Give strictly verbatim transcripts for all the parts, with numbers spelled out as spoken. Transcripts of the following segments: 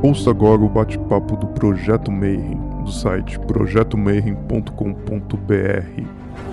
Ouça agora o bate-papo do Projeto Mayhem, do site projeto mayhem ponto com ponto b r.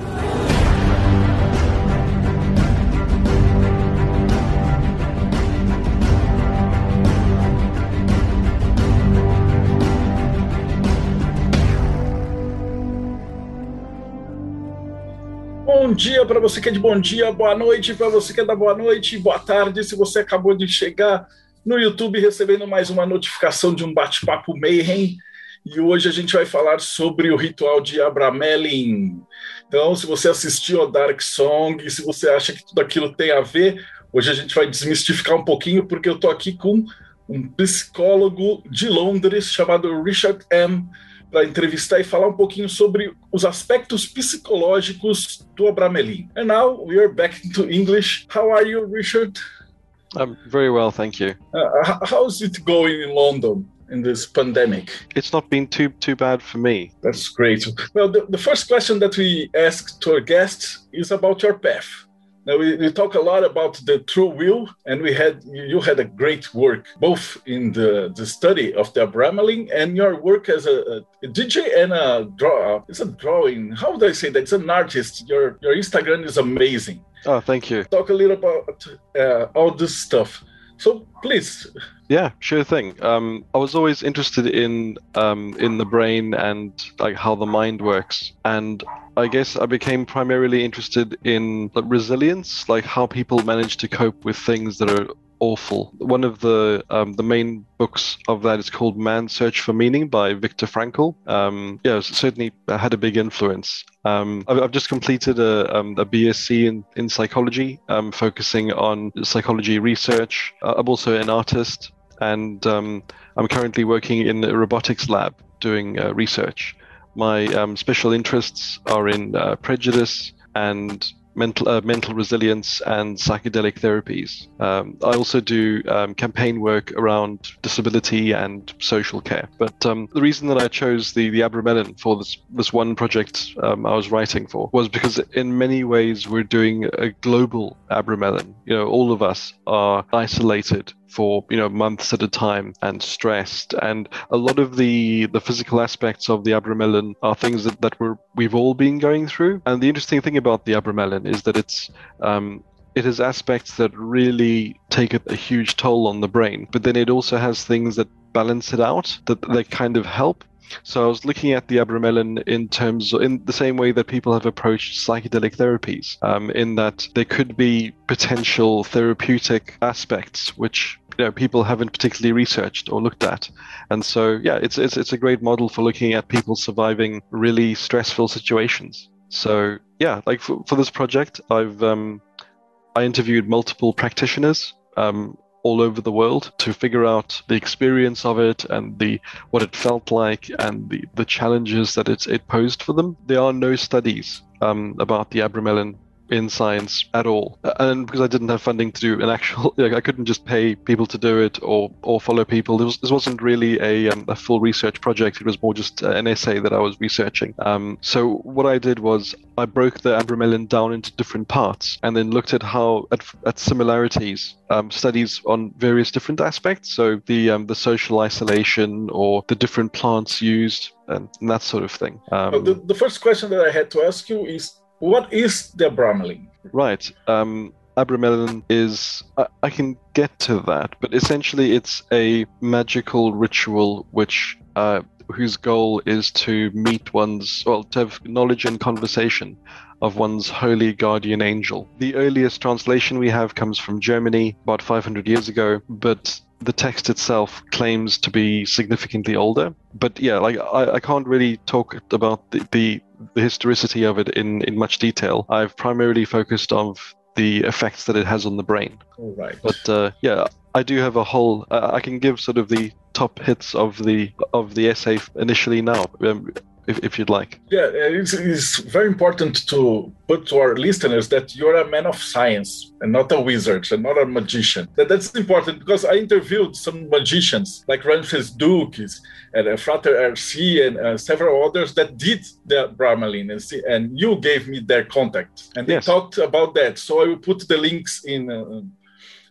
Bom dia para você que é de bom dia, boa noite para você que é da boa noite, boa tarde se você acabou de chegar no YouTube recebendo mais uma notificação de um bate-papo Mayhem. E hoje a gente vai falar sobre o ritual de Abramelin. Então, se você assistiu a Dark Song, se você acha que tudo aquilo tem a ver, hoje a gente vai desmistificar um pouquinho, porque eu estou aqui com um psicólogo de Londres chamado Richard M., para entrevistar e falar um pouquinho sobre os aspectos psicológicos do Abramelin. And now we are back to English. How are you, Richard? I'm very well, thank you. Uh, how's it going in London in this pandemic? It's not been too too bad for me. That's great. Well, the, the first question that we ask to our guests is about your path. Now, we, we talk a lot about the true will, and we had you had a great work both in the, the study of the Abramelin and your work as a, a D J and a draw. It's a drawing. How would I say that? It's an artist. Your your Instagram is amazing. Oh, thank you. Talk a little about uh, all this stuff. So please. Yeah, sure thing. Um, I was always interested in um, in the brain and like how the mind works, and I guess I became primarily interested in like, resilience, like how people manage to cope with things that are awful. One of the um, the main books of that is called Man's Search for Meaning by Viktor Frankl. Um, yeah, it certainly had a big influence. Um, I've, I've just completed a, um, a B S c in, in psychology, um, focusing on psychology research. Uh, I'm also an artist, and um, I'm currently working in a robotics lab doing uh, research. My um, special interests are in uh, prejudice and mental uh, mental resilience and psychedelic therapies. Um, I also do um, campaign work around disability and social care. But um, the reason that I chose the, the Abramelin for this, this one project um, I was writing for was because in many ways we're doing a global Abramelin. You know, all of us are isolated for you know months at a time and stressed, and a lot of the the physical aspects of the Abramelin are things that, that we're we've all been going through. And the interesting thing about the Abramelin is that it's um it has aspects that really take a, a huge toll on the brain, but then it also has things that balance it out, that they kind of help. So I was looking at the Abramelin in terms of, in the same way that people have approached psychedelic therapies, um, in that there could be potential therapeutic aspects which you know people haven't particularly researched or looked at. And so yeah, it's it's it's a great model for looking at people surviving really stressful situations. So yeah, like for, for this project, I've um, I interviewed multiple practitioners Um, all over the world to figure out the experience of it and the what it felt like and the, the challenges that it, it posed for them. There are no studies um, about the Abramelin in science at all, and because I didn't have funding to do an actual, like, I couldn't just pay people to do it or or follow people. This, was, this wasn't really a, um, a full research project. It was more just an essay that I was researching. Um, so what I did was I broke the Abramelin down into different parts and then looked at how at, at similarities, um, studies on various different aspects. So the um, the social isolation or the different plants used and, and that sort of thing. Um, well, the, the first question that I had to ask you is, what is the Abramelin? Right. Um, Abramelin is, I, I can get to that, but essentially it's a magical ritual which uh, whose goal is to meet one's, well, to have knowledge and conversation of one's holy guardian angel. The earliest translation we have comes from Germany about five hundred years ago, but the text itself claims to be significantly older. But yeah, like I, I can't really talk about the, the, the historicity of it in, in much detail. I've primarily focused on the effects that it has on the brain. All right. But uh, yeah, I do have a whole. Uh, I can give sort of the top hits of the of the essay initially now. Um, If, if you'd like. Yeah, it's, it's very important to put to our listeners that you're a man of science and not a wizard and not a magician. That, that's important because I interviewed some magicians like Ramses Dukes and uh, Frater R C and uh, several others that did the Abramelin, and, see, and you gave me their contact and they yes. talked about that. So I will put the links in uh,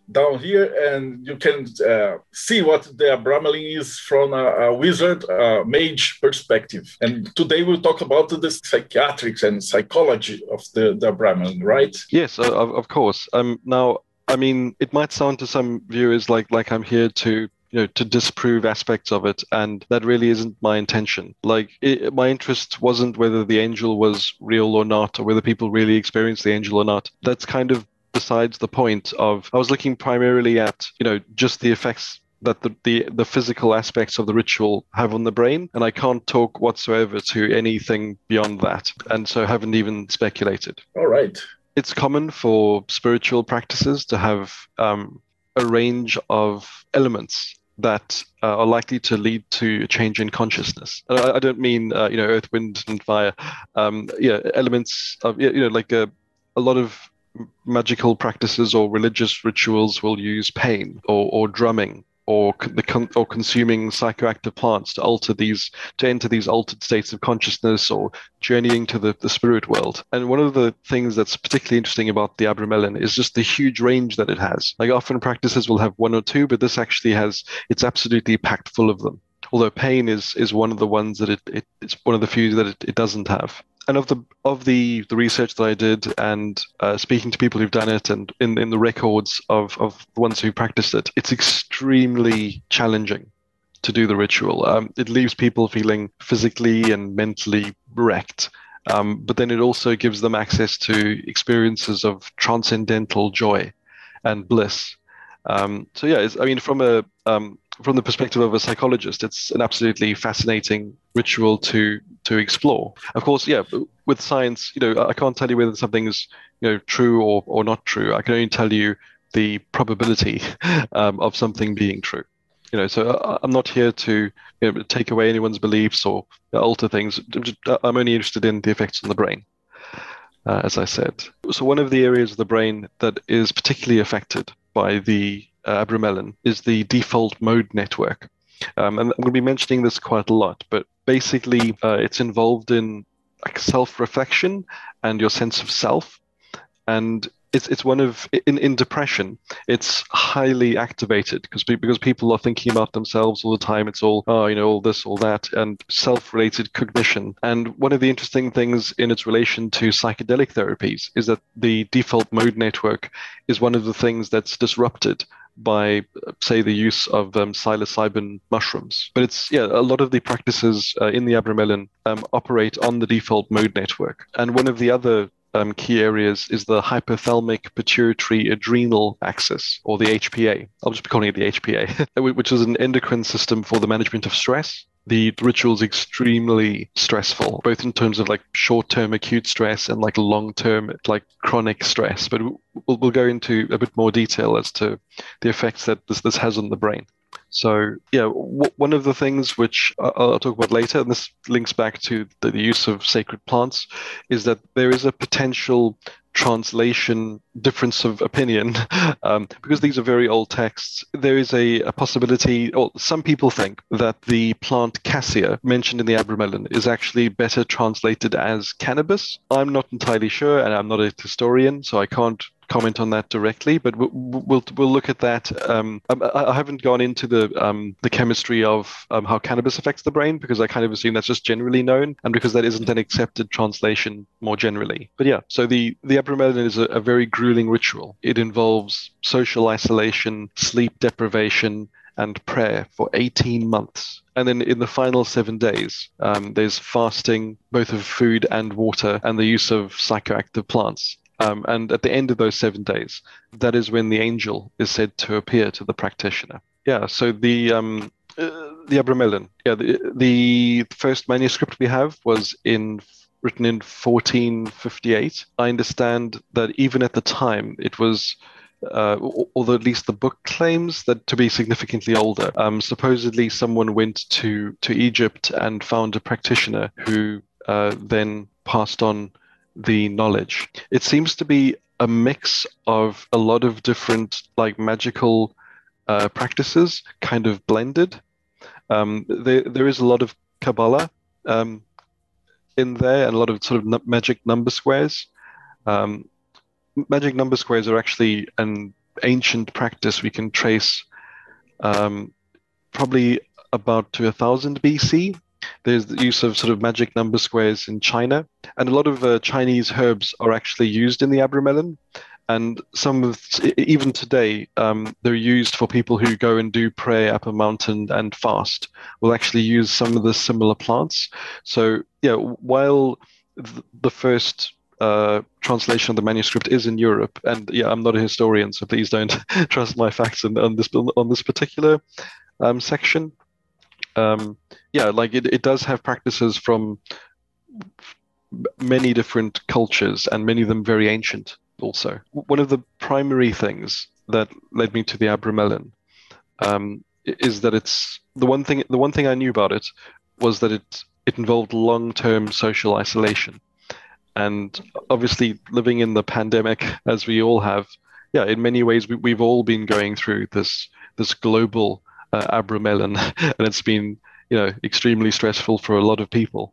down here, and you can uh, see what the Abramelin is from a, a wizard, uh, mage perspective. And today we'll talk about the psychiatrics and psychology of the, the Abramelin, right? Yes, uh, of, of course. Um, now, I mean, it might sound to some viewers like like I'm here to you know, to disprove aspects of it. And that really isn't my intention. Like, it, my interest wasn't whether the angel was real or not, or whether people really experienced the angel or not. That's kind of besides the point of, I was looking primarily at, you know, just the effects that the, the, the physical aspects of the ritual have on the brain. And I can't talk whatsoever to anything beyond that. And so haven't even speculated. All right. It's common for spiritual practices to have um, a range of elements that uh, are likely to lead to a change in consciousness. And I, I don't mean, uh, you know, earth, wind, and fire. Um, yeah, elements of, you know, like a, a lot of magical practices or religious rituals will use pain or, or drumming or the con- or consuming psychoactive plants to alter these, to enter these altered states of consciousness or journeying to the, the spirit world. And one of the things that's particularly interesting about the Abramelin is just the huge range that it has. Like, often practices will have one or two, but this actually has, it's absolutely packed full of them. Although pain is is one of the ones that it, it it's one of the few that it, it doesn't have. And of the of the, the research that I did, and uh, speaking to people who've done it, and in, in the records of, of the ones who practiced it, it's extremely challenging to do the ritual. Um, it leaves people feeling physically and mentally wrecked. Um, but then it also gives them access to experiences of transcendental joy and bliss. Um, so yeah, it's, I mean, from a um, from the perspective of a psychologist, it's an absolutely fascinating ritual to to explore. Of course, yeah, with science, you know, I can't tell you whether something is, you know, true or, or not true. I can only tell you the probability um, of something being true. You know, so I'm not here to, you know, take away anyone's beliefs or alter things. I'm only interested in the effects on the brain, uh, as I said. So one of the areas of the brain that is particularly affected by the uh, Abramelin is the default mode network. Um, and I'm going to be mentioning this quite a lot, but basically uh, it's involved in like self-reflection and your sense of self. And it's it's one of, in, in depression, it's highly activated because because people are thinking about themselves all the time. It's all, oh, you know, all this, all that, and self-related cognition. And one of the interesting things in its relation to psychedelic therapies is that the default mode network is one of the things that's disrupted by, say, the use of um, psilocybin mushrooms. But it's, yeah, a lot of the practices uh, in the Abramelin um, operate on the default mode network. And one of the other um, key areas is the hypothalamic pituitary adrenal axis, or the H P A. I'll just be calling it the H P A, which is an endocrine system for the management of stress. The ritual is extremely stressful, both in terms of like short-term acute stress and like long-term like chronic stress. But we'll, we'll go into a bit more detail as to the effects that this, this has on the brain. So yeah, w- one of the things which I'll, I'll talk about later, and this links back to the, the use of sacred plants, is that there is a potential translation difference of opinion um, because these are very old texts. There is a, a possibility, or some people think that the plant cassia mentioned in the Abramelin is actually better translated as cannabis. I'm not entirely sure, and I'm not a historian, so I can't comment on that directly, but we'll we'll, we'll look at that. Um, I, I haven't gone into the um, the chemistry of um, how cannabis affects the brain, because I kind of assume that's just generally known, and because that isn't an accepted translation more generally. But yeah, so the the Abramelin is a, a very grueling ritual. It involves social isolation, sleep deprivation, and prayer for eighteen months. And then in the final seven days, um, there's fasting, both of food and water, and the use of psychoactive plants. Um, and at the end of those seven days, that is when the angel is said to appear to the practitioner. Yeah, so the um, uh, the Abramelin, yeah, the, the first manuscript we have was in written in fourteen fifty-eight. I understand that even at the time, it was, uh, although at least the book claims that to be significantly older. Um, supposedly, someone went to, to Egypt and found a practitioner who uh, then passed on the knowledge. It seems to be a mix of a lot of different like magical uh, practices kind of blended. Um, there, there is a lot of Kabbalah um, in there, and a lot of sort of magic number squares. Um, magic number squares are actually an ancient practice we can trace um, probably about to one thousand B C. There's the use of sort of magic number squares in China, and a lot of uh, Chinese herbs are actually used in the Abramelin. And some of, even today, um, they're used for people who go and do prayer up a mountain and fast. Will actually use some of the similar plants. So yeah, while th- the first uh, translation of the manuscript is in Europe, and yeah, I'm not a historian, so please don't trust my facts on, on this on this particular um, section. Um, yeah, like it, it does have practices from many different cultures, and many of them very ancient. Also, one of the primary things that led me to the Abramelin um, is that it's the one thing. The one thing I knew about it was that it it involved long-term social isolation, and obviously living in the pandemic as we all have. Yeah, in many ways we, we've all been going through this this global uh, Abramelin, and it's been you know extremely stressful for a lot of people.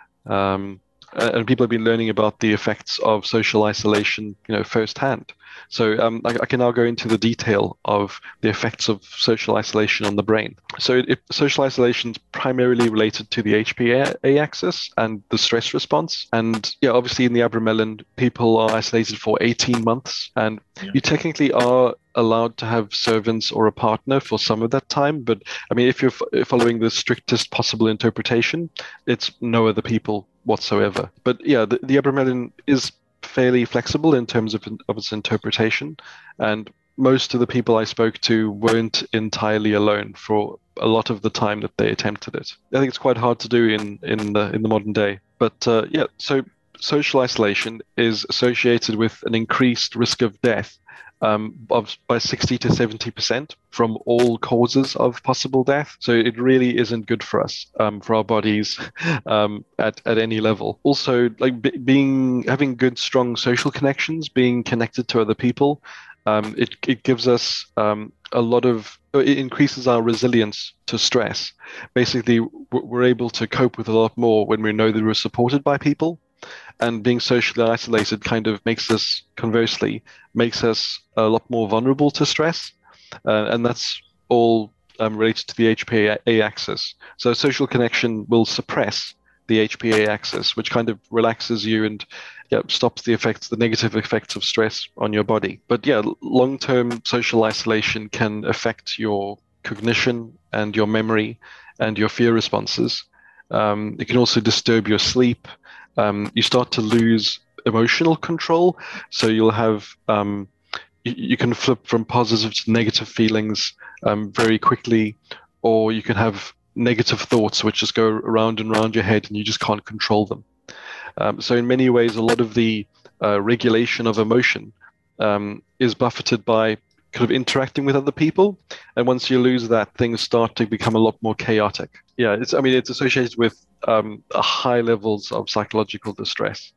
Um, and people have been learning about the effects of social isolation, you know, firsthand. So um, I, I can now go into the detail of the effects of social isolation on the brain. So it, it, social isolation is primarily related to the H P A axis and the stress response. And yeah, obviously in the Abramelin, people are isolated for eighteen months, and yeah. you technically are allowed to have servants or a partner for some of that time. But I mean, if you're f- following the strictest possible interpretation, it's no other people whatsoever. But yeah, the, the Abramelin is fairly flexible in terms of, of its interpretation, and most of the people I spoke to weren't entirely alone for a lot of the time that they attempted it. I think it's quite hard to do in in the in the modern day. But uh, yeah, so social isolation is associated with an increased risk of death um, of by sixty to seventy percent from all causes of possible death. So it really isn't good for us, um, for our bodies, um, at, at any level. Also, like b- being having good, strong social connections, being connected to other people, um, it it gives us um, a lot of, it increases our resilience to stress. Basically, we're able to cope with a lot more when we know that we're supported by people. And being socially isolated kind of makes us, conversely, makes us a lot more vulnerable to stress. Uh, and that's all um, related to the H P A axis. So social connection will suppress the H P A axis, which kind of relaxes you and yeah, stops the effects, the negative effects of stress on your body. But yeah, long-term social isolation can affect your cognition and your memory and your fear responses. Um, it can also disturb your sleep. Um, you start to lose emotional control, so you'll have um, you, you can flip from positive to negative feelings um, very quickly, or you can have negative thoughts which just go around and around your head, and you just can't control them. Um, so in many ways, a lot of the uh, regulation of emotion um, is buffeted by kind of interacting with other people, and once you lose that, things start to become a lot more chaotic. Yeah, it's I mean it's associated with um, high levels of psychological distress,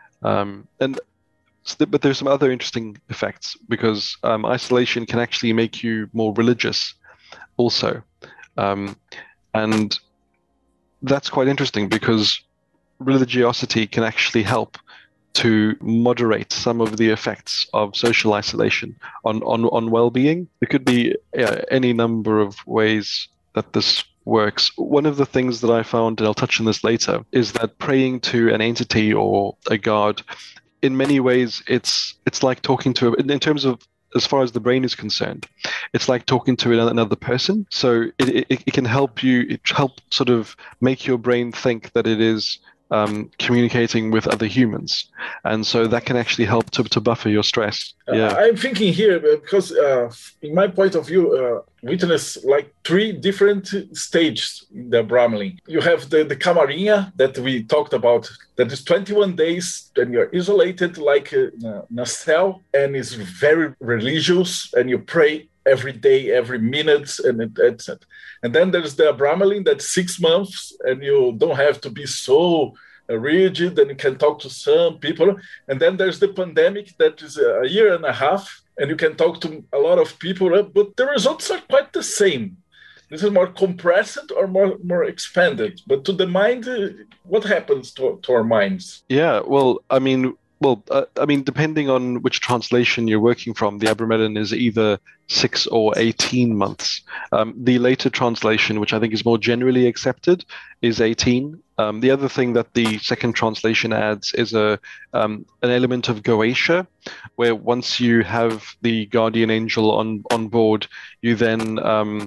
um, and but there's some other interesting effects, because um, isolation can actually make you more religious, also, um, and that's quite interesting because religiosity can actually help to moderate some of the effects of social isolation on, on, on well-being. There could be yeah, any number of ways that this works. One of the things that I found, and I'll touch on this later, is that praying to an entity or a god, in many ways, it's it's like talking to, in terms of, as far as the brain is concerned, it's like talking to another person. So it, it, it can help you, it help sort of make your brain think that it is Um, communicating with other humans, and so that can actually help to, to buffer your stress. Yeah, uh, I'm thinking here because, uh, in my point of view, uh, witness like three different stages in the Abramelin. You have the the Camarinha that we talked about. That is twenty-one days, and you're isolated like a, in a cell, and it's very religious, and you pray every day, every minute, and et cetera. And then there's the Abramelin that's six months, and you don't have to be so rigid, and you can talk to some people. And then there's the pandemic that is a year and a half, and you can talk to a lot of people, but the results are quite the same. This is more compressed or more, more expanded. But to the mind, what happens to, to our minds? Yeah, well, I mean, well, uh, I mean, depending on which translation you're working from, the Abramelin is either six or eighteen months. Um, the later translation, which I think is more generally accepted, is eighteen. Um, the other thing that the second translation adds is a um, an element of Goetia, where once you have the guardian angel on, on board, you then um,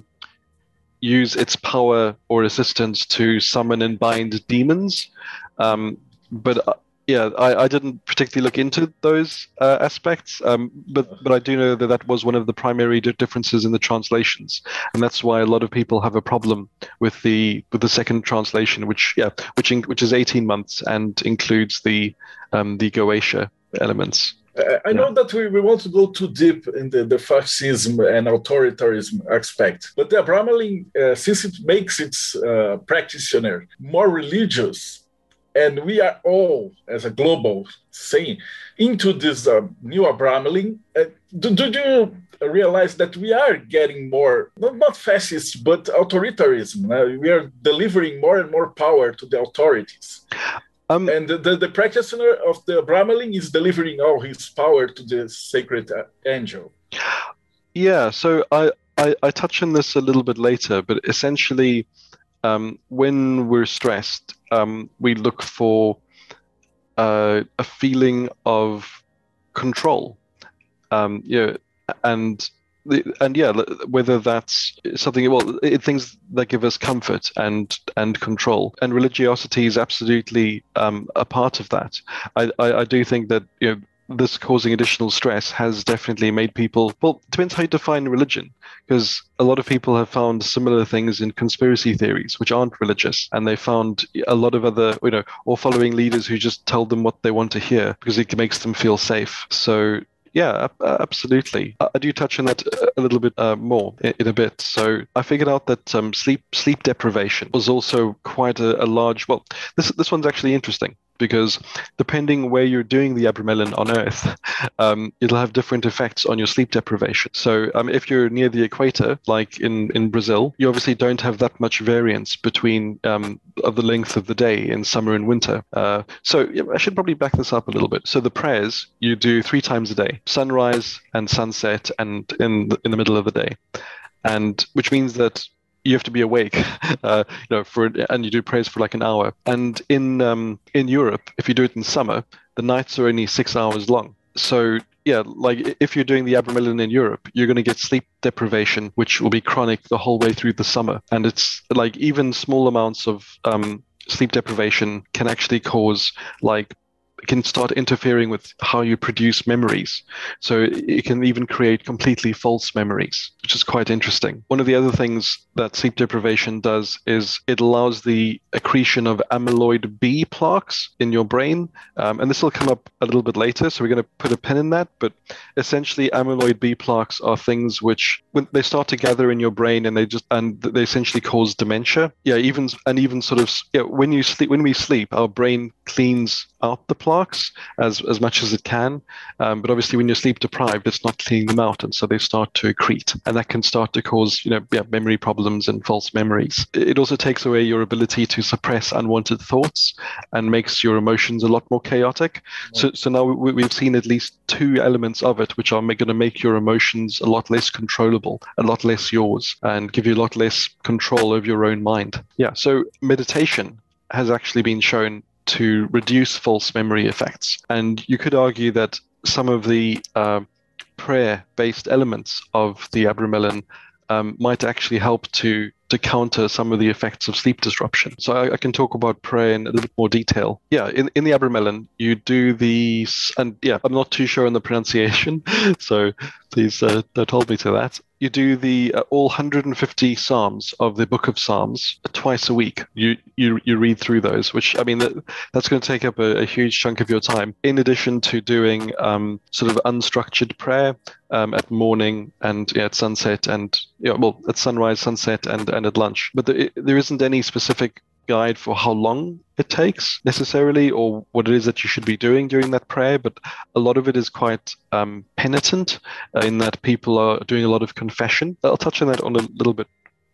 use its power or assistance to summon and bind demons. Um, but uh, yeah, I, I didn't particularly look into those uh, aspects, um, but but I do know that that was one of the primary di- differences in the translations, and that's why a lot of people have a problem with the with the second translation, which yeah, which in, which is eighteen months and includes the um, the Goetia elements. I know that we, we want to go too deep in the, the fascism and authoritarianism aspect, but the Abramelin, uh, since it makes its uh, practitioner more religious, and we are all, as a global saying, into this uh, new Abramelin, uh, do, do you realize that we are getting more, not, not fascist, but authoritarianism? Uh, we are delivering more and more power to the authorities. Um, and the, the, the practitioner of the Abramelin is delivering all his power to the sacred uh, angel. Yeah, so I, I, I touch on this a little bit later, but essentially, um, when we're stressed, um, we look for uh, a feeling of control. Um, yeah, and and yeah, whether that's something, well, it, things that give us comfort and and control, and religiosity is absolutely um, a part of that. I, I, I do think that, you know, this causing additional stress has definitely made people, well, it depends how you define religion, because a lot of people have found similar things in conspiracy theories, which aren't religious, and they found a lot of other, you know, or following leaders who just tell them what they want to hear because it makes them feel safe. So yeah, absolutely. I do touch on that a little bit uh, more in a bit. So I figured out that um, sleep sleep deprivation was also quite a, a large. Well, this this one's actually interesting, because depending where you're doing the Abramelin on Earth, um, it'll have different effects on your sleep deprivation. So um, if you're near the equator, like in, in Brazil, you obviously don't have that much variance between um, of the length of the day in summer and winter. Uh, so yeah, I should probably back this up a little bit. So the prayers you do three times a day: sunrise and sunset, and in the, in the middle of the day, and which means that you have to be awake, uh, you know, for and you do prayers for like an hour. And in um, in Europe, if you do it in summer, the nights are only six hours long. So yeah, like if you're doing the Abramelin in Europe, you're going to get sleep deprivation, which will be chronic the whole way through the summer. And it's like even small amounts of um, sleep deprivation can actually cause like can start interfering with how you produce memories. So it can even create completely false memories, which is quite interesting. One of the other things that sleep deprivation does is it allows the accretion of amyloid B plaques in your brain. Um, and this will come up a little bit later, so we're going to put a pin in that. But essentially, amyloid B plaques are things which, when they start to gather in your brain, and they just and they essentially cause dementia. Yeah, even and even sort of yeah, when you sleep, when we sleep, our brain cleans out the plaques as as much as it can, um, but obviously when you're sleep deprived, it's not cleaning them out, and so they start to accrete, and that can start to cause, you know, yeah, memory problems and false memories. It also takes away your ability to suppress unwanted thoughts and makes your emotions a lot more chaotic. So so now we, we've seen at least two elements of it which are going to make your emotions a lot less controllable, a lot less yours, and give you a lot less control over your own mind. Yeah, so meditation has actually been shown to reduce false memory effects. And you could argue that some of the uh, prayer-based elements of the Abramelin um, might actually help to to counter some of the effects of sleep disruption. So I, I can talk about prayer in a little bit more detail. Yeah, in, in the Abramelin, you do the, and yeah, I'm not too sure on the pronunciation, so please uh, don't hold me to that. You do the uh, all one hundred fifty Psalms of the Book of Psalms twice a week. You you you read through those, which, I mean, that, that's going to take up a, a huge chunk of your time, in addition to doing um, sort of unstructured prayer um, at morning and yeah, at sunset and, yeah, well, at sunrise, sunset, and, and at lunch. But there, there isn't any specific guide for how long it takes necessarily, or what it is that you should be doing during that prayer, but a lot of it is quite um, penitent uh, in that people are doing a lot of confession. I'll touch on that on a little bit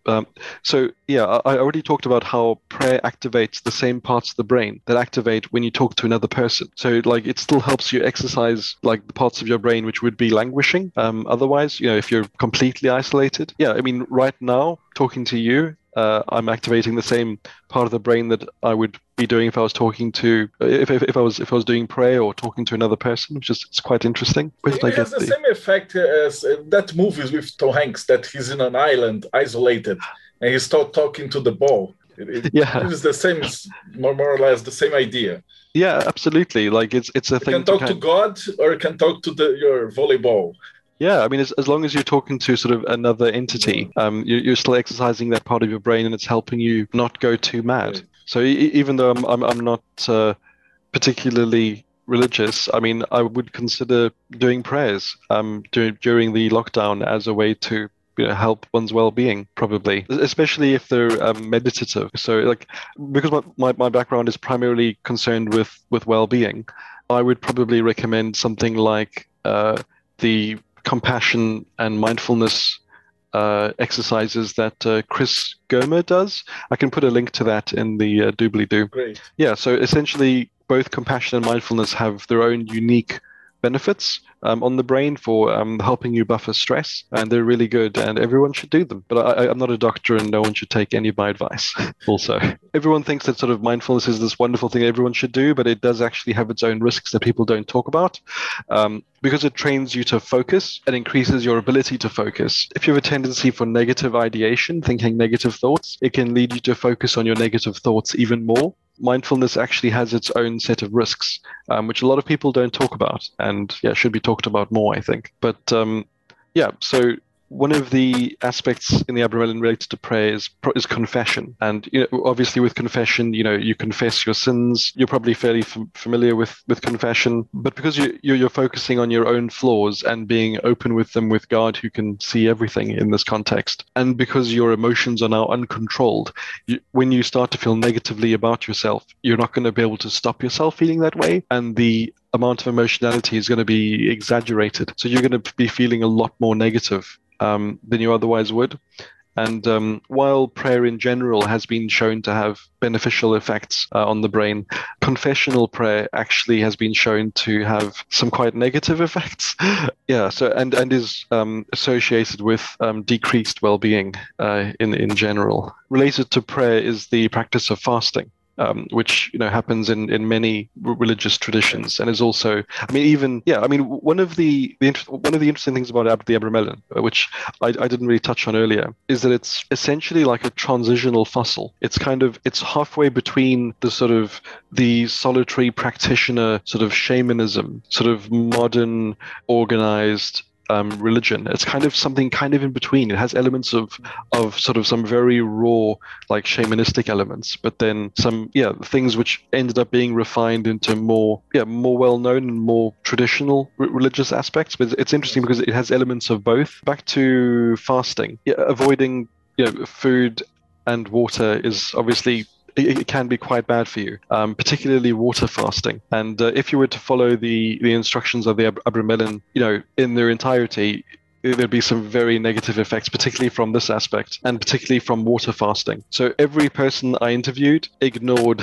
Um, so yeah, I, I already talked about how prayer activates the same parts of the brain that activate when you talk to another person. So like it still helps you exercise like the parts of your brain which would be languishing. Um, otherwise, you know, if you're completely isolated. Yeah, I mean, right now talking to you, uh, I'm activating the same part of the brain that I would be doing if I was talking to if if, if I was if I was doing prayer or talking to another person, which is it's quite interesting. Where did I It has get the the... same effect as uh, that movie with Tom Hanks, that he's in an island, isolated, and he's talk, talking to the ball. It, it, Yeah, it is the same, more, more or less the same idea. yeah, absolutely. Like it's it's a You thing can to talk kind to God, or you can talk to the, your volleyball. Yeah, I mean, as, as long as you're talking to sort of another entity, um, you, you're still exercising that part of your brain, and it's helping you not go too mad. Right. So e- even though I'm I'm, I'm not uh, particularly religious, I mean, I would consider doing prayers um, dur- during the lockdown as a way to, you know, help one's well-being, probably, especially if they're um, meditative. So, like, because my, my, my background is primarily concerned with with well-being, I would probably recommend something like uh, the compassion and mindfulness uh, exercises that uh, Chris Germer does. I can put a link to that in the uh, doobly-doo. Great. Yeah, so essentially, both compassion and mindfulness have their own unique benefits um, on the brain for um, helping you buffer stress, and they're really good, and everyone should do them. But I, I'm not a doctor, and no one should take any of my advice. Also, everyone thinks that sort of mindfulness is this wonderful thing everyone should do, but it does actually have its own risks that people don't talk about. Um, because it trains you to focus and increases your ability to focus. If you have a tendency for negative ideation, thinking negative thoughts, it can lead you to focus on your negative thoughts even more. Mindfulness actually has its own set of risks, um, which a lot of people don't talk about, and yeah, should be talked about more, I think. But um, yeah, so one of the aspects in the Abramelin related to prayer is, is confession. And you know, obviously with confession, you know, you confess your sins. You're probably fairly f- familiar with, with confession. But because you, you're, you're focusing on your own flaws and being open with them with God, who can see everything in this context, and because your emotions are now uncontrolled, you, when you start to feel negatively about yourself, you're not going to be able to stop yourself feeling that way. And the amount of emotionality is going to be exaggerated. So you're going to be feeling a lot more negative Um, than you otherwise would. And um, while prayer in general has been shown to have beneficial effects uh, on the brain, confessional prayer actually has been shown to have some quite negative effects. Yeah, so and and is um, associated with um, decreased well-being uh, in in general. Related to prayer is the practice of fasting. Um, which you know happens in, in many religious traditions, and is also, I mean, even yeah, I mean, one of the, the one of the interesting things about Ab- the Abramelin, which I, I didn't really touch on earlier, is that it's essentially like a transitional fossil. It's kind of it's halfway between the sort of the solitary practitioner sort of shamanism, sort of modern organized Um, religion. It's kind of something kind of in between. It has elements of of sort of some very raw, like shamanistic elements, but then some yeah things which ended up being refined into more yeah more well known and more traditional r- religious aspects. But it's interesting because it has elements of both. Back to fasting, yeah, avoiding you know food and water is obviously. It can be quite bad for you, um, particularly water fasting. And uh, if you were to follow the, the instructions of the Ab- Abramelin, you know, in their entirety, there'd be some very negative effects, particularly from this aspect, and particularly from water fasting. So every person I interviewed ignored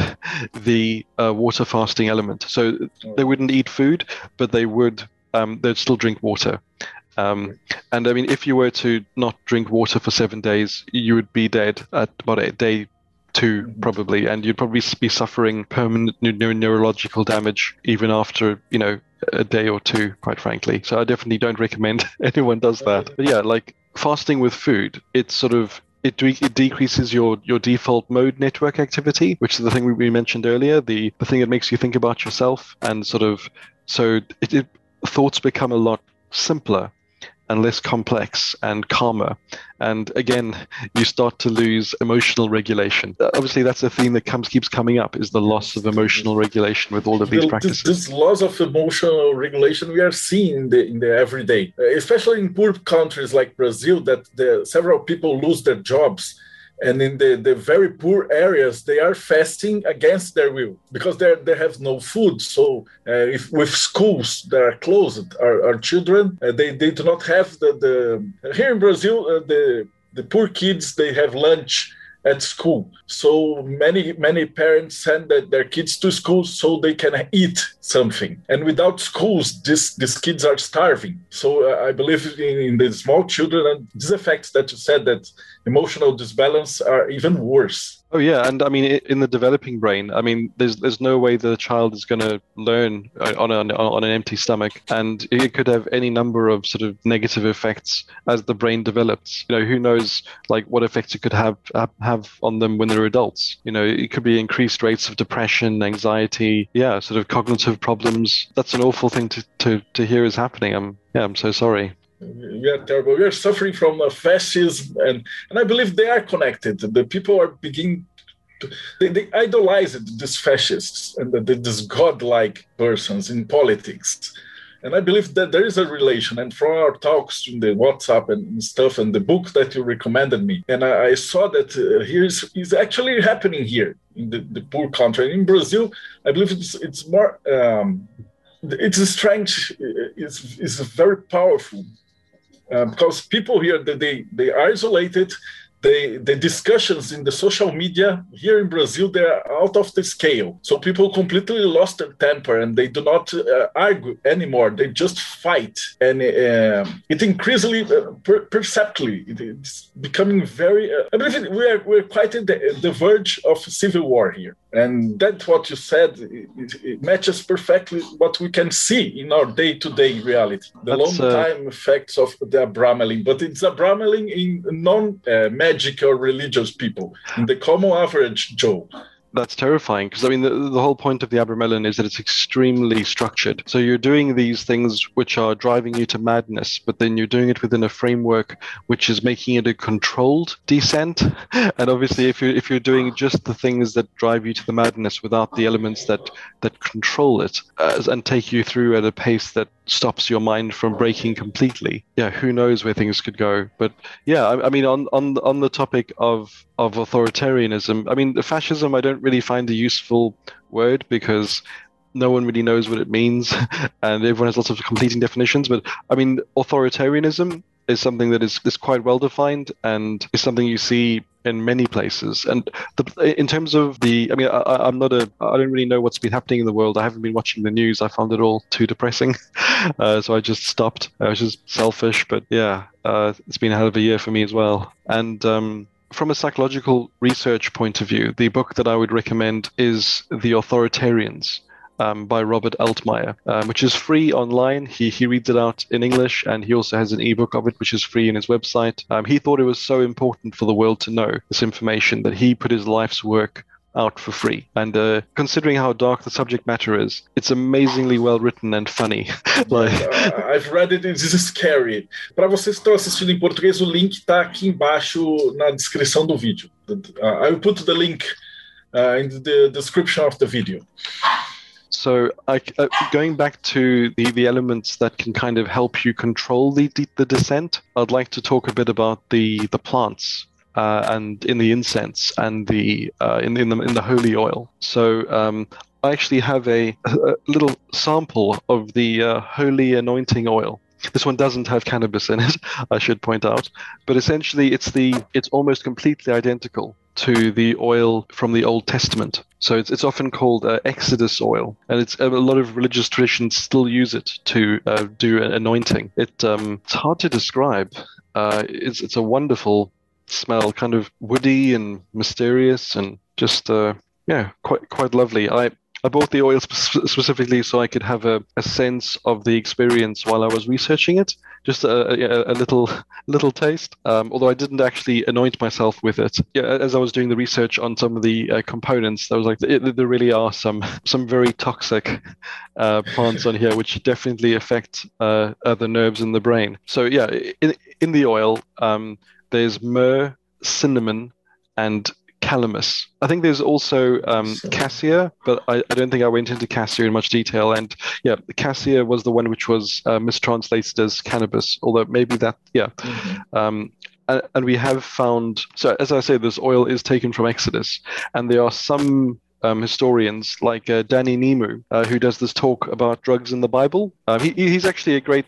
the uh, water fasting element. So they wouldn't eat food, but they would, um, they'd still drink water. Um, and I mean, if you were to not drink water for seven days, you would be dead at about a day two probably, and you'd probably be suffering permanent neuro- neurological damage even after you know a day or two, quite frankly. So I definitely don't recommend anyone does that. But yeah, like fasting with food, it's sort of it, de- it decreases your your default mode network activity, which is the thing we, we mentioned earlier, the the thing that makes you think about yourself, and sort of so it, it thoughts become a lot simpler and less complex and calmer. And again, you start to lose emotional regulation. Obviously, that's a theme that comes keeps coming up, is the loss of emotional regulation with all of these the, practices. This, this loss of emotional regulation we are seeing in the, in the everyday, especially in poor countries like Brazil, that the, several people lose their jobs. And in the, the very poor areas, they are fasting against their will because they they have no food. So uh, if with schools that are closed, our, our children, uh, they, they do not have the, the... Here in Brazil, uh, the the poor kids, they have lunch at school. So many, many parents send their kids to school so they can eat something. And without schools, this, these kids are starving. So uh, I believe in, in the small children, and these effects that you said, that emotional disbalance, are even worse. Oh yeah, and I mean, in the developing brain, I mean, there's there's no way the child is going to learn on an on an empty stomach, and it could have any number of sort of negative effects as the brain develops. You know, who knows, like what effects it could have have on them when they're adults. You know, it could be increased rates of depression, anxiety, yeah, sort of cognitive problems. That's an awful thing to to to hear is happening. I'm yeah, I'm so sorry. Yeah, terrible. We are suffering from uh, fascism, and, and I believe they are connected. The people are beginning to, they, they idolize these fascists and the, these godlike persons in politics. And I believe that there is a relation. And from our talks in the WhatsApp and stuff, and the book that you recommended me, and I, I saw that uh, here is, is actually happening here in the, the poor country. In Brazil, I believe it's it's more, um, its strength is, is very powerful. Uh, because people here, they, they are isolated. They, the discussions in the social media here in Brazil, they're out of the scale. So people completely lost their temper, and they do not uh, argue anymore. They just fight. And uh, it increasingly, uh, per- perceptibly, it's becoming very, uh, I believe we are, we're quite at the, the verge of civil war here. And that's what you said. It, it matches perfectly what we can see in our day-to-day reality. The long-time uh... effects of the Abramelin. But it's Abramelin in non-magic uh, or religious people, in the common average Joe. That's terrifying, because I mean the, the whole point of the Abramelin is that it's extremely structured. So you're doing these things which are driving you to madness, but then you're doing it within a framework which is making it a controlled descent. And obviously, if you're if you're doing just the things that drive you to the madness without the elements that that control it uh, and take you through at a pace that stops your mind from breaking completely, yeah, who knows where things could go. But yeah, I, I mean, on on on the topic of of authoritarianism, I mean, the fascism, I don't really find a useful word because no one really knows what it means, and everyone has lots of competing definitions. But I mean, authoritarianism is something that is, is quite well defined and is something you see in many places. And the, in terms of the, I mean, I, I'm not a, I don't really know what's been happening in the world. I haven't been watching the news. I found it all too depressing. Uh, so I just stopped. I was just selfish, but yeah, uh, it's been a hell of a year for me as well. And um, from a psychological research point of view, the book that I would recommend is The Authoritarians. Um, by Robert Altmaier, um, which is free online. He he reads it out in English, and he also has an ebook of it, which is free in his website. Um, he thought it was so important for the world to know this information that he put his life's work out for free. And uh, considering how dark the subject matter is, it's amazingly well written and funny. Like... uh, I've read it, it's scary. Para vocês que estão assistindo em português, o link está aqui embaixo na descrição do vídeo. Uh, I will put the link uh, in the description of the video. So I, uh, going back to the, the elements that can kind of help you control the, the, the descent, I'd like to talk a bit about the, the plants uh, and in the incense and the uh, in, in the in the holy oil. So um, I actually have a, a little sample of the uh, holy anointing oil. This one doesn't have cannabis in it, I should point out, but essentially it's the it's almost completely identical to the oil from the Old Testament. So it's it's often called uh, Exodus oil, and it's a lot of religious traditions still use it to uh, do an anointing. It um, it's hard to describe. Uh, it's it's a wonderful smell, kind of woody and mysterious, and just uh, yeah, quite quite lovely. I. I bought the oil sp- specifically so I could have a, a sense of the experience while I was researching it, just a, a, a little little taste, um, although I didn't actually anoint myself with it. Yeah, as I was doing the research on some of the uh, components, I was like, it, there really are some, some very toxic uh, plants on here, which definitely affect uh, uh, the nerves in the brain. So yeah, in, in the oil, um, there's myrrh, cinnamon, and calamus. I think there's also um, cassia, but I, I don't think I went into cassia in much detail. And yeah, cassia was the one which was uh, mistranslated as cannabis, although maybe that, yeah. Mm-hmm. Um, and, and we have found, so as I say, this oil is taken from Exodus, and there are some um, historians like uh, Danny Nemu, uh, who does this talk about drugs in the Bible. Um, he, he's actually a great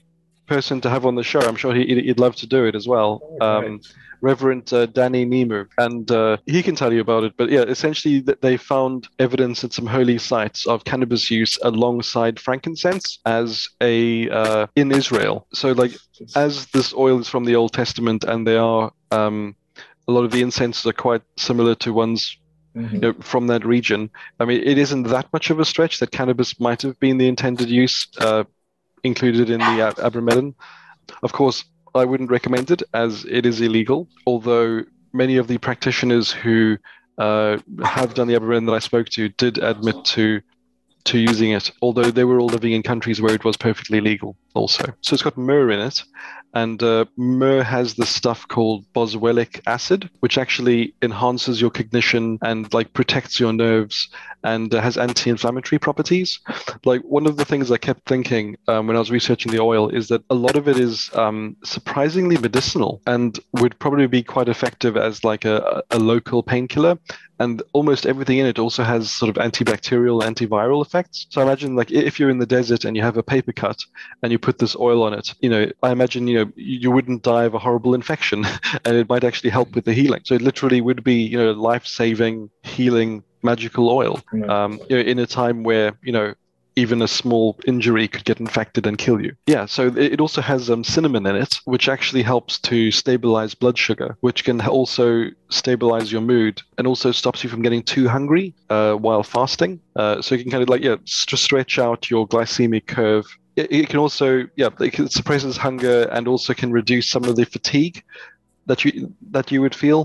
person to have on the show. I'm sure he, he'd love to do it as well. Oh, um, right. Reverend uh, Danny Nemu, and uh, he can tell you about it. But yeah, essentially, th- they found evidence at some holy sites of cannabis use alongside frankincense as a uh, in Israel. So, like, as this oil is from the Old Testament, and they are um, a lot of the incenses are quite similar to ones Mhm. you know, from that region. I mean, it isn't that much of a stretch that cannabis might have been the intended use uh, included in the ab- abramelin. Of course, I wouldn't recommend it as it is illegal, although many of the practitioners who uh, have done the abramelin that I spoke to did admit to to using it, although they were all living in countries where it was perfectly legal also. So it's got myrrh in it, and uh, myrrh has this stuff called boswellic acid, which actually enhances your cognition and like protects your nerves and uh, has anti-inflammatory properties. Like one of the things I kept thinking um, when I was researching the oil is that a lot of it is um, surprisingly medicinal and would probably be quite effective as like a, a local painkiller. And almost everything in it also has sort of antibacterial, antiviral effects. So I imagine like if you're in the desert and you have a paper cut and you put this oil on it, you know, I imagine, you know, you wouldn't die of a horrible infection and it might actually help with the healing. So it literally would be, you know, life-saving, healing, magical oil um, you know, in a time where, you know, even a small injury could get infected and kill you. Yeah, so it also has um, cinnamon in it, which actually helps to stabilize blood sugar, which can also stabilize your mood and also stops you from getting too hungry uh, while fasting. Uh, so you can kind of like, yeah, st- stretch out your glycemic curve. It, it can also, yeah, it suppresses hunger and also can reduce some of the fatigue that you that you would feel.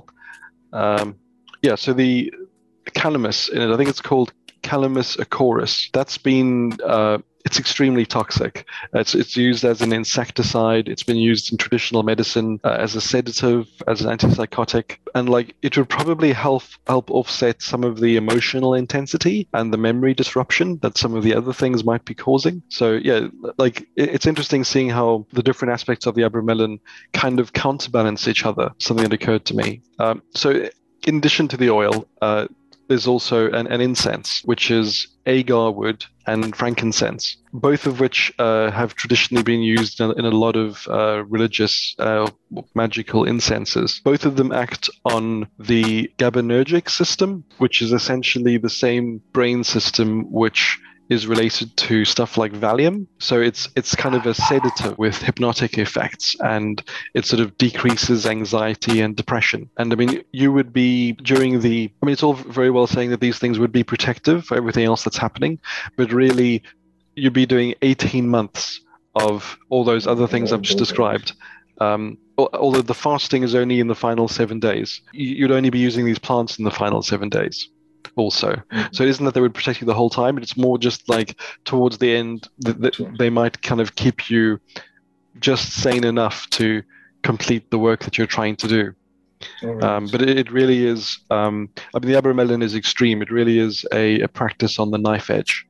Um, yeah, so the calamus in it, I think it's called Calamus acorus. That's been uh, it's extremely toxic. It's it's used as an insecticide. It's been used in traditional medicine uh, as a sedative, as an antipsychotic, and like it would probably help help offset some of the emotional intensity and the memory disruption that some of the other things might be causing. So yeah, like it, it's interesting seeing how the different aspects of the abramelin kind of counterbalance each other. Something that occurred to me. Um, so in addition to the oil, uh, there's also an, an incense, which is agar wood and frankincense, both of which uh, have traditionally been used in, in a lot of uh, religious uh, magical incenses. Both of them act on the GABAergic system, which is essentially the same brain system which is related to stuff like Valium. So it's it's kind of a sedative with hypnotic effects, and it sort of decreases anxiety and depression. And I mean, you would be during the, I mean, it's all very well saying that these things would be protective for everything else that's happening, but really you'd be doing eighteen months of all those other things I've just described. Um, although the fasting is only in the final seven days, you'd only be using these plants in the final seven days. Also, so it isn't that they would protect you the whole time, but it's more just like towards the end that th- they might kind of keep you just sane enough to complete the work that you're trying to do. Right. Um, but it, it really is, um, I mean, the abramelin is extreme. It really is a, a practice on the knife edge.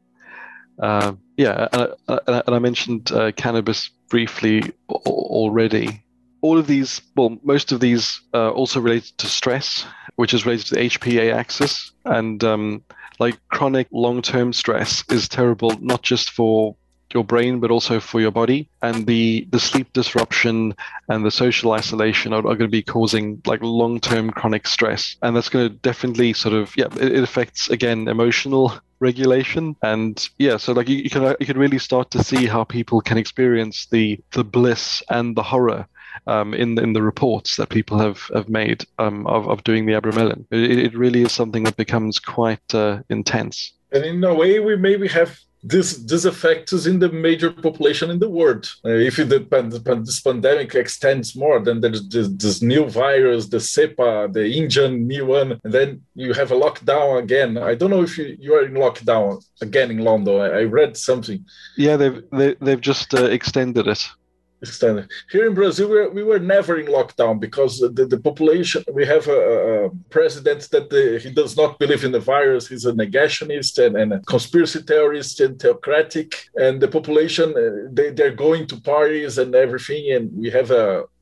Uh, yeah, and, and, and I mentioned uh, cannabis briefly already. All of these, well, most of these are also related to stress, which is related to the H P A axis. And um, like chronic long-term stress is terrible, not just for your brain, but also for your body. And the, the sleep disruption and the social isolation are, are going to be causing like long-term chronic stress. And that's going to definitely sort of, yeah, it, it affects, again, emotional regulation. And yeah, so like you, you can you can really start to see how people can experience the the bliss and the horror Um, in in the reports that people have have made um, of of doing the abramelin. It, it really is something that becomes quite uh, intense. And in a way, we maybe have this this effects in the major population in the world. Uh, if it, the, this pandemic extends more, then there's this, this new virus, the Cepa, the Indian new one, and then you have a lockdown again. I don't know if you, you are in lockdown again in London. I, I read something. Yeah, they've they, they've just uh, extended it. Extended. Here in Brazil, we were, we were never in lockdown because the, the population, we have a, a president that the, he does not believe in the virus. He's a negationist and, and a conspiracy theorist and theocratic. And the population, uh, they, they're going to parties and everything. And we have a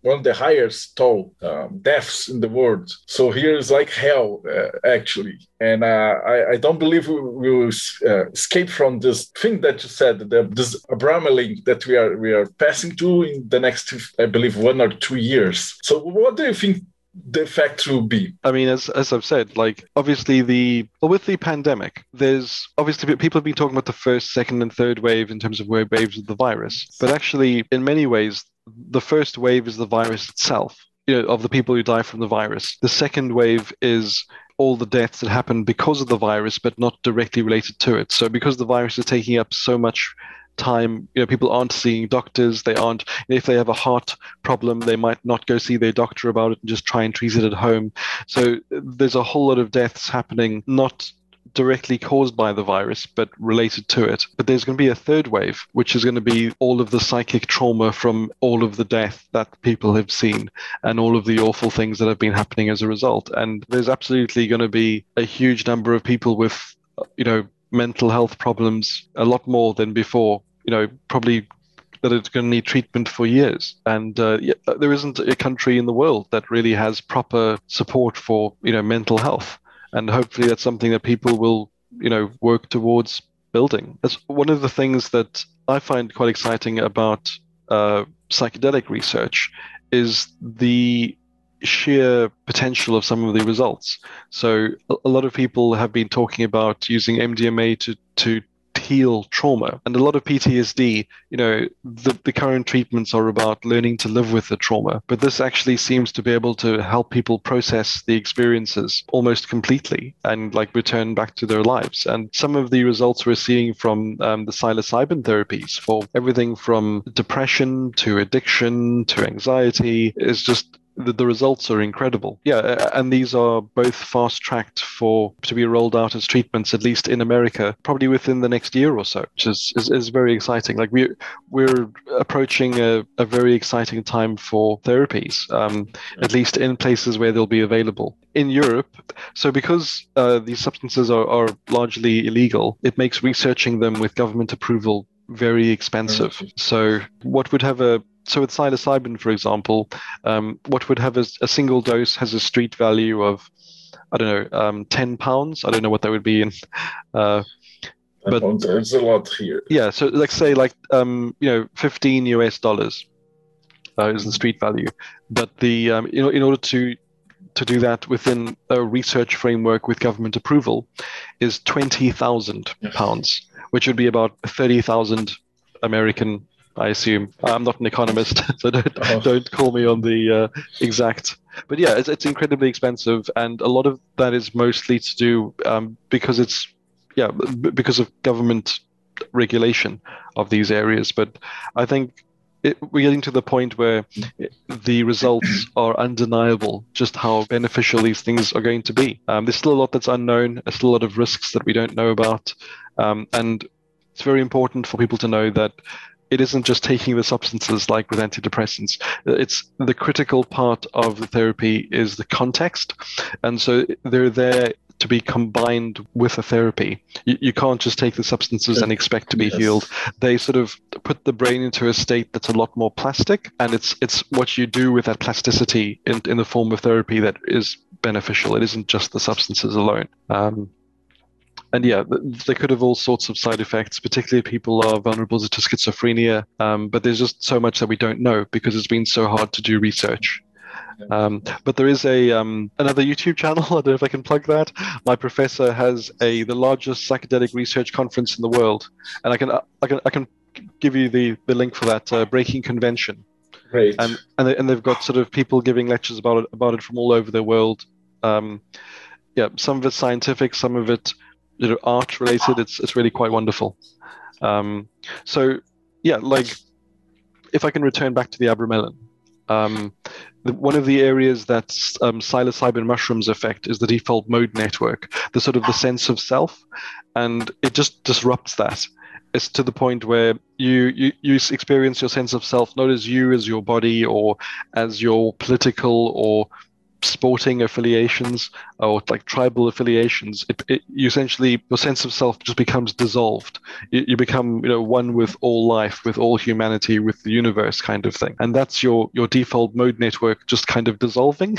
one of the highest toll um, deaths in the world. So here is like hell, uh, actually. And uh, I, I don't believe we will uh, escape from this thing that you said, the, this abromeling that we are we are passing through in the next, I believe, one or two years. So what do you think the effect will be? I mean, as as I've said, like obviously the well, with the pandemic, there's obviously people have been talking about the first, second, and third wave in terms of wave waves of the virus, but actually, in many ways, the first wave is the virus itself, you know, of the people who die from the virus. The second wave is all the deaths that happen because of the virus, but not directly related to it. So because the virus is taking up so much time, you know, people aren't seeing doctors. They aren't, if they have a heart problem, they might not go see their doctor about it and just try and treat it at home. So there's a whole lot of deaths happening, not directly caused by the virus, but related to it. But there's going to be a third wave, which is going to be all of the psychic trauma from all of the death that people have seen and all of the awful things that have been happening as a result. And there's absolutely going to be a huge number of people with, you know, mental health problems, a lot more than before, you know, probably that it's going to need treatment for years. And uh, yeah, there isn't a country in the world that really has proper support for, you know, mental health. And hopefully that's something that people will, you know, work towards building. That's one of the things that I find quite exciting about uh, psychedelic research is the sheer potential of some of the results. So a lot of people have been talking about using M D M A to, to heal trauma. And a lot of P T S D, you know, the, the current treatments are about learning to live with the trauma. But this actually seems to be able to help people process the experiences almost completely and like return back to their lives. And some of the results we're seeing from um, the psilocybin therapies for everything from depression to addiction to anxiety is just The, the results are incredible. Yeah, and these are both fast-tracked for to be rolled out as treatments, at least in America, probably within the next year or so, which is, is, is very exciting. Like we, we're approaching a, a very exciting time for therapies, um, at least in places where they'll be available. In Europe, so because uh, these substances are, are largely illegal, it makes researching them with government approval very expensive. So what would have a So with psilocybin, for example, um, what would have a, a single dose has a street value of, I don't know, um, ten pounds. I don't know what that would be in, uh, but it's a lot here. Yeah, so like say like um, you know, fifteen U S dollars uh, is the street value, but the um, you know, in order to to do that within a research framework with government approval, is twenty thousand pounds, which would be about thirty thousand American. I assume. I'm not an economist, so don't oh. don't call me on the uh, exact. But yeah, it's, it's incredibly expensive, and a lot of that is mostly to do um, because it's yeah b- because of government regulation of these areas. But I think it, we're getting to the point where it, the results are undeniable, just how beneficial these things are going to be. Um, there's still a lot that's unknown. There's still a lot of risks that we don't know about, um, and it's very important for people to know that it isn't just taking the substances like with antidepressants. It's the critical part of the therapy is the context. And so they're there to be combined with a therapy. You, you can't just take the substances and expect to be yes. healed. They sort of put the brain into a state that's a lot more plastic. And it's it's what you do with that plasticity in, in the form of therapy that is beneficial. It isn't just the substances alone. Um, And yeah, they could have all sorts of side effects, particularly if people are vulnerable to schizophrenia. Um, but there's just so much that we don't know because it's been so hard to do research. Um, but there is a um, another YouTube channel. I don't know if I can plug that. My professor has a the largest psychedelic research conference in the world, and I can I can I can give you the, the link for that. Uh, Breaking Convention. Great. And and, they, and they've got sort of people giving lectures about it about it from all over the world. Um, yeah, some of it's scientific, some of it, you know, art related. It's it's really quite wonderful. Um, so yeah, like if I can return back to the abromelin, um, the, one of the areas that um, psilocybin mushrooms affect is the default mode network, the sort of the sense of self, and it just disrupts that. It's to the point where you, you you experience your sense of self not as you as your body or as your political or sporting affiliations or like tribal affiliations, it, it, you essentially, your sense of self just becomes dissolved. You, you become, you know, one with all life, with all humanity, with the universe kind of thing. And that's your, your default mode network just kind of dissolving.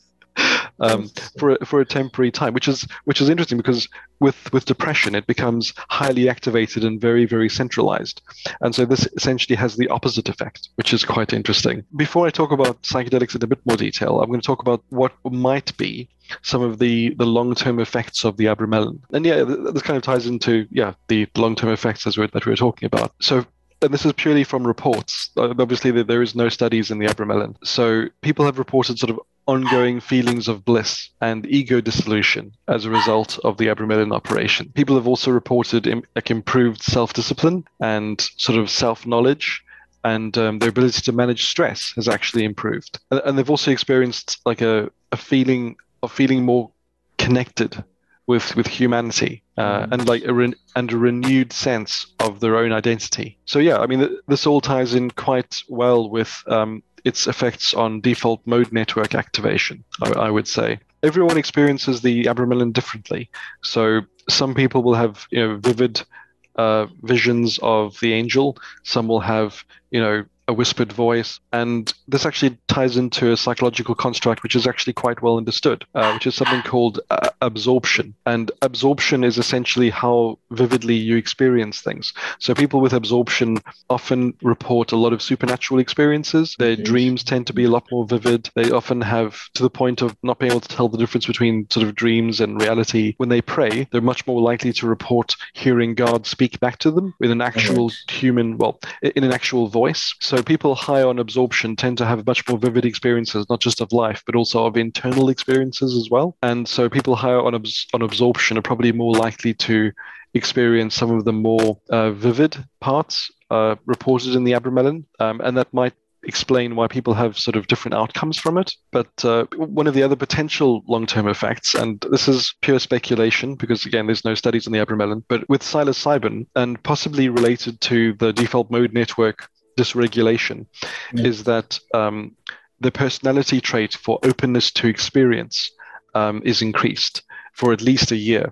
Um, for a, for a temporary time, which is which is interesting because with with depression it becomes highly activated and very very centralized, and so this essentially has the opposite effect, which is quite interesting. Before I talk about psychedelics in a bit more detail, I'm going to talk about what might be some of the the long term effects of the abramelin, and yeah, this kind of ties into yeah the long term effects as we're, that we were talking about. So. And this is purely from reports. Uh, obviously, there is no studies in the abramelin. So people have reported sort of ongoing feelings of bliss and ego dissolution as a result of the abramelin operation. People have also reported im- like improved self-discipline and sort of self-knowledge, and um, their ability to manage stress has actually improved. And, and they've also experienced like a, a feeling of feeling more connected with with humanity uh, mm-hmm. and like a re- and a renewed sense of their own identity. So yeah, I mean th- this all ties in quite well with um, its effects on default mode network activation. I, I would say everyone experiences the abramelin differently. So some people will have you know vivid uh, visions of the angel. Some will have you know a whispered voice, and this actually ties into a psychological construct which is actually quite well understood, uh, which is something called uh, absorption. And absorption is essentially how vividly you experience things. So people with absorption often report a lot of supernatural experiences. Their dreams tend to be a lot more vivid. They often have, to the point of not being able to tell the difference between sort of dreams and reality. When they pray, they're much more likely to report hearing God speak back to them with an actual human, well, in an actual voice. So So people high on absorption tend to have much more vivid experiences, not just of life, but also of internal experiences as well. And so people higher on, abs- on absorption are probably more likely to experience some of the more uh, vivid parts uh, reported in the abramelin. Um, and that might explain why people have sort of different outcomes from it. But uh, one of the other potential long-term effects, and this is pure speculation because, again, there's no studies on the abramelin, but with psilocybin and possibly related to the default mode network dysregulation, yeah. is that um, the personality trait for openness to experience um, is increased for at least a year.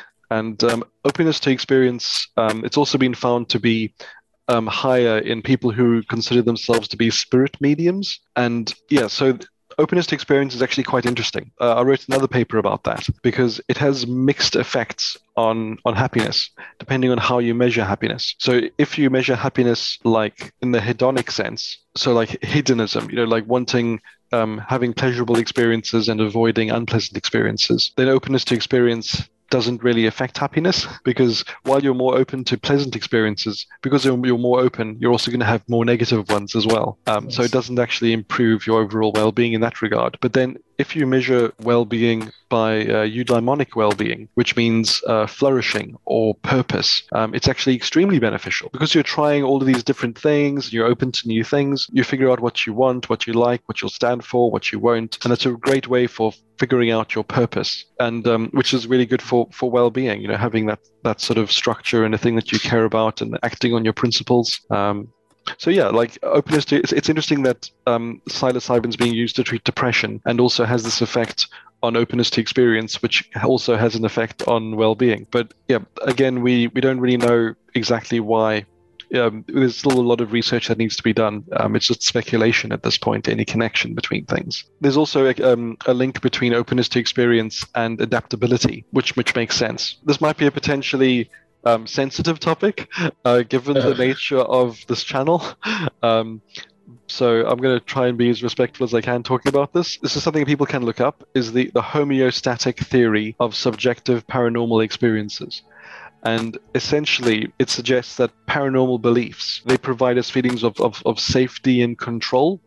And um, openness to experience, um, it's also been found to be um, higher in people who consider themselves to be spirit mediums. And yeah, so th- openness to experience is actually quite interesting. Uh, I wrote another paper about that because it has mixed effects on, on happiness, depending on how you measure happiness. So if you measure happiness like in the hedonic sense, so like hedonism, you know, like wanting, um, having pleasurable experiences and avoiding unpleasant experiences, then openness to experience doesn't really affect happiness, because while you're more open to pleasant experiences, because you're, you're more open, you're also going to have more negative ones as well. Um, yes. So it doesn't actually improve your overall well-being in that regard. But then if you measure well-being by uh, eudaimonic well-being, which means uh, flourishing or purpose, um, it's actually extremely beneficial because you're trying all of these different things, you're open to new things, you figure out what you want, what you like, what you'll stand for, what you won't. And that's a great way for figuring out your purpose, and um, which is really good for, for well-being, you know, having that, that sort of structure and a thing that you care about and acting on your principles. Um, So yeah, like openness to, it's, it's interesting that um, psilocybin is being used to treat depression and also has this effect on openness to experience, which also has an effect on well-being. But yeah, again, we, we don't really know exactly why. Um, there's still a lot of research that needs to be done. Um, it's just speculation at this point, any connection between things. There's also a, um, a link between openness to experience and adaptability, which which makes sense. This might be a potentially Um, sensitive topic, uh, given the nature of this channel. Um, so I'm going to try and be as respectful as I can talking about this. This is something people can look up, is the, the homeostatic theory of subjective paranormal experiences. And essentially, it suggests that paranormal beliefs, they provide us feelings of, of, of safety and control.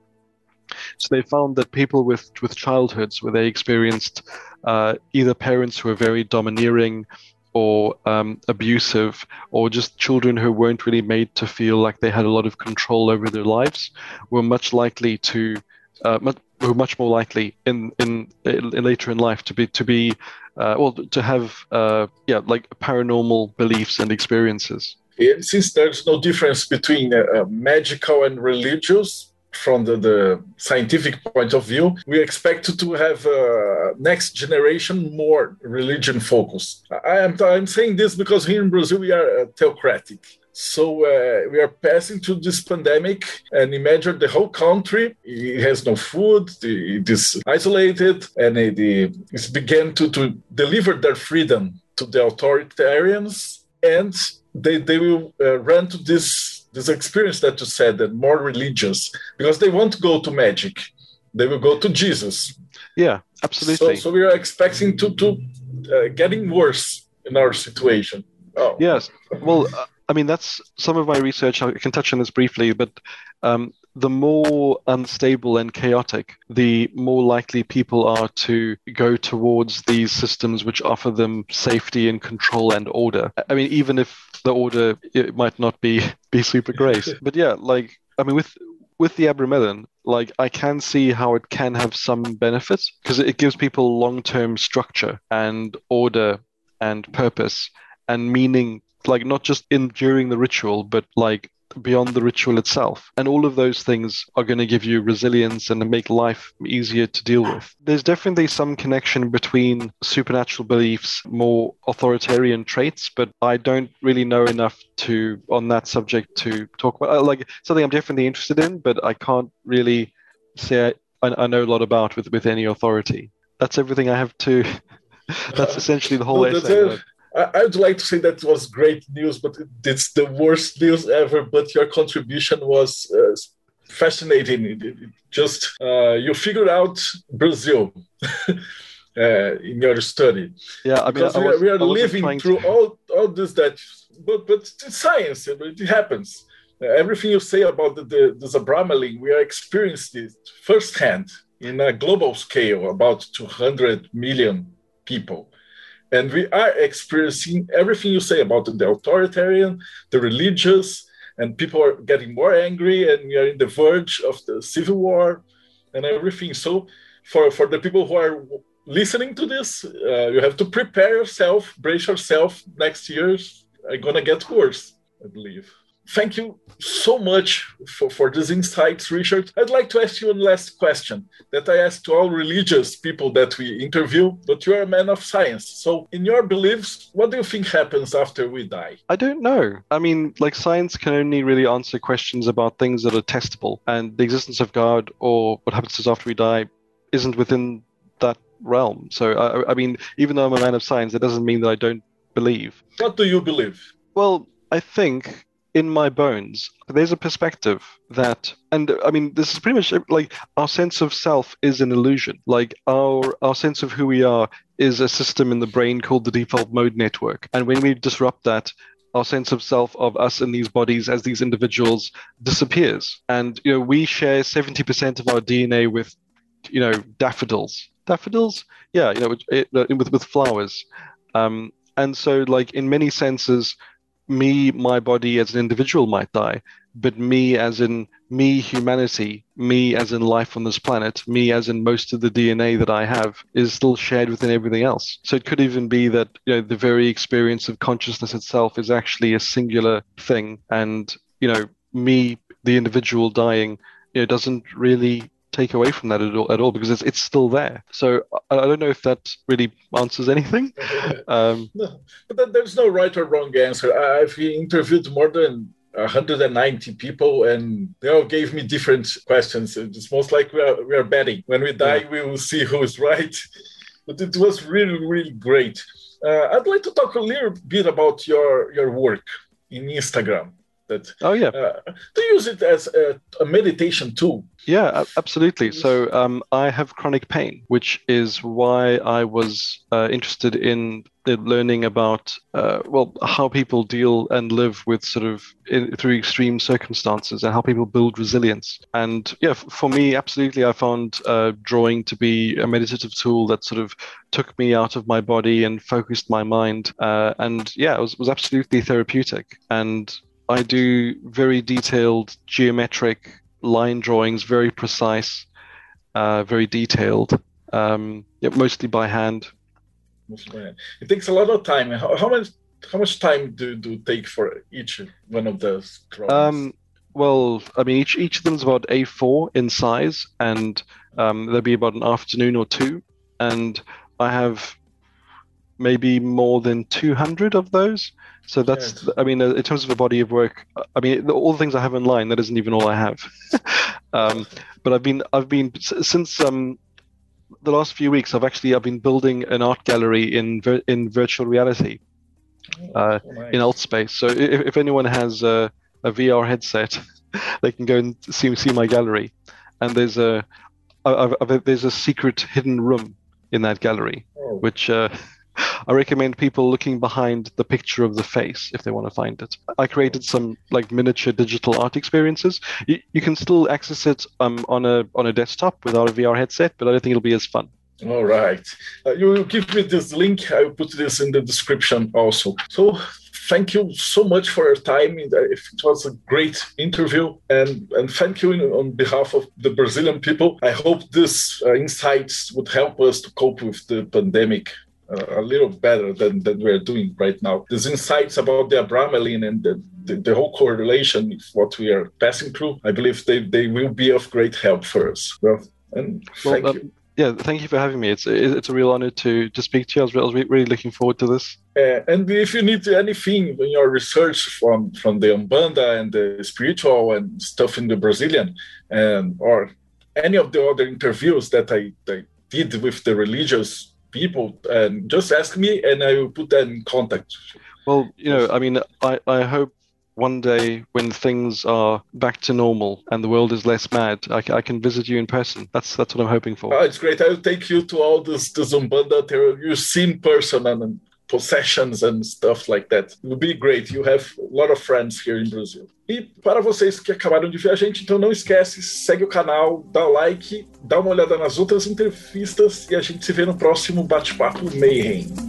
So they found that people with, with childhoods where they experienced uh, either parents who were very domineering or um, abusive, or just children who weren't really made to feel like they had a lot of control over their lives, were much likely to, uh, much, were much more likely in, in, in later in life to be to be, uh, well, to have, uh, yeah, like paranormal beliefs and experiences. And since there's no difference between uh, magical and religious, from the, the scientific point of view, we expect to have uh, next generation more religion focused. I am I'm saying this because here in Brazil we are uh, theocratic. So uh, we are passing through this pandemic, and imagine the whole country, it has no food, it is isolated, and it, it began to, to deliver their freedom to the authoritarians, and they, they will uh, run to this, this experience that you said, that more religious, because they won't go to magic. They will go to Jesus. Yeah, absolutely. So, so we are expecting to, to uh, getting worse in our situation. Oh. Yes. Well, uh, I mean, that's some of my research. I can touch on this briefly, but um, the more unstable and chaotic, the more likely people are to go towards these systems which offer them safety and control and order. I mean, even if the order, it might not be, be super great. But yeah, like, I mean, with with the Abramelin, like, I can see how it can have some benefits because it gives people long-term structure and order and purpose and meaning, like not just in during the ritual, but like beyond the ritual itself. And all of those things are going to give you resilience and make life easier to deal with. There's definitely some connection between supernatural beliefs, more authoritarian traits, but I don't really know enough to on that subject to talk about. Like something I'm definitely interested in, but I can't really say I, I know a lot about with, with any authority. That's everything I have to. That's essentially the whole no, essay. I would like to say that was great news, but it's the worst news ever. But your contribution was uh, fascinating. It, it just uh, you figured out Brazil uh, in your study. Yeah, I mean, because I we was, are, we are living through to... all all this that, but but it's science. It happens. Uh, everything you say about the the, the Abramelin, we are experiencing it firsthand in a global scale, about two hundred million people. And we are experiencing everything you say about the authoritarian, the religious, and people are getting more angry, and we are in the verge of the civil war and everything. So for, for the people who are listening to this, uh, you have to prepare yourself, brace yourself. Next year's are going to get worse, I believe. Thank you so much for, for these insights, Richard. I'd like to ask you one last question that I ask to all religious people that we interview, but you're a man of science. So in your beliefs, what do you think happens after we die? I don't know. I mean, like science can only really answer questions about things that are testable, and the existence of God or what happens to us after we die isn't within that realm. So, I, I mean, even though I'm a man of science, it doesn't mean that I don't believe. What do you believe? Well, I think in my bones, there's a perspective that, and I mean, this is pretty much like our sense of self is an illusion. Like our our sense of who we are is a system in the brain called the default mode network. And when we disrupt that, our sense of self of us in these bodies as these individuals disappears. And, you know, we share seventy percent of our D N A with, you know, daffodils. Daffodils? Yeah, you know, it, it, with, with flowers. Um, and so, like, in many senses, me, my body as an individual might die, but me as in me, humanity, me as in life on this planet, me as in most of the D N A that I have is still shared within everything else. So it could even be that, you know, the very experience of consciousness itself is actually a singular thing. And, you know, me, the individual dying, you know, doesn't really take away from that at all, at all because it's it's still there. So I, I don't know if that really answers anything. Um, no, but there's no right or wrong answer. I've interviewed more than one hundred ninety people, and they all gave me different questions. It's most like we are, we are betting. When we die, yeah. we will see who is right. But it was really, really great. Uh, I'd like to talk a little bit about your, your work in Instagram. That, oh, yeah. Uh, do you use it as a, a meditation tool? Yeah, absolutely. So um, I have chronic pain, which is why I was uh, interested in learning about, uh, well, how people deal and live with sort of in, through extreme circumstances and how people build resilience. And yeah, f- for me, absolutely, I found uh, drawing to be a meditative tool that sort of took me out of my body and focused my mind. Uh, and yeah, it was, was absolutely therapeutic. And I do very detailed geometric line drawings, very precise, uh, very detailed, um, yeah, mostly by hand. It takes a lot of time. How, how much how much time do do take for each one of those drawings? Um, Well, I mean, each each of them is about A four in size, and um, there'll be about an afternoon or two, and I have maybe more than two hundred of those. So that's, yes. I mean, in terms of a body of work, I mean, all the things I have online, that isn't even all I have. um, but I've been, I've been since um, the last few weeks, I've actually, I've been building an art gallery in in virtual reality uh, oh, nice. in Altspace. So if, if anyone has a, a V R headset, they can go and see see my gallery. And there's a, I've, I've, there's a secret hidden room in that gallery, oh. which. Uh, I recommend people looking behind the picture of the face if they want to find it. I created some like miniature digital art experiences. You, you can still access it um, on a on a desktop without a V R headset, but I don't think it'll be as fun. All right. Uh, you will give me this link. I will put this in the description also. So thank you so much for your time. It was a great interview. And, and thank you on behalf of the Brazilian people. I hope these uh, insights would help us to cope with the pandemic Uh, a little better than, than we're doing right now. These insights about the abramelin and the, the, the whole correlation with what we are passing through, I believe they, they will be of great help for us. Well, and well, thank um, you. Yeah, thank you for having me. It's it's a real honor to, to speak to you. I was, I was really looking forward to this. Uh, and if you need anything in your research from, from the Umbanda and the spiritual and stuff in the Brazilian, and or any of the other interviews that I, I did with the religious people, and just ask me and I will put them in contact. Well, you know, I mean, I, I hope one day when things are back to normal and the world is less mad, I, I can visit you in person. That's that's what I'm hoping for. Oh, it's great. I will take you to all this, this Umbanda there. You see in person and possessions and stuff like that. It will be great. You have a lot of friends here in Brazil. E para vocês que acabaram de ver a gente, então não esquece, segue o canal, dá o like, dá uma olhada nas outras entrevistas e a gente se vê no próximo Bate-Papo Mayhem.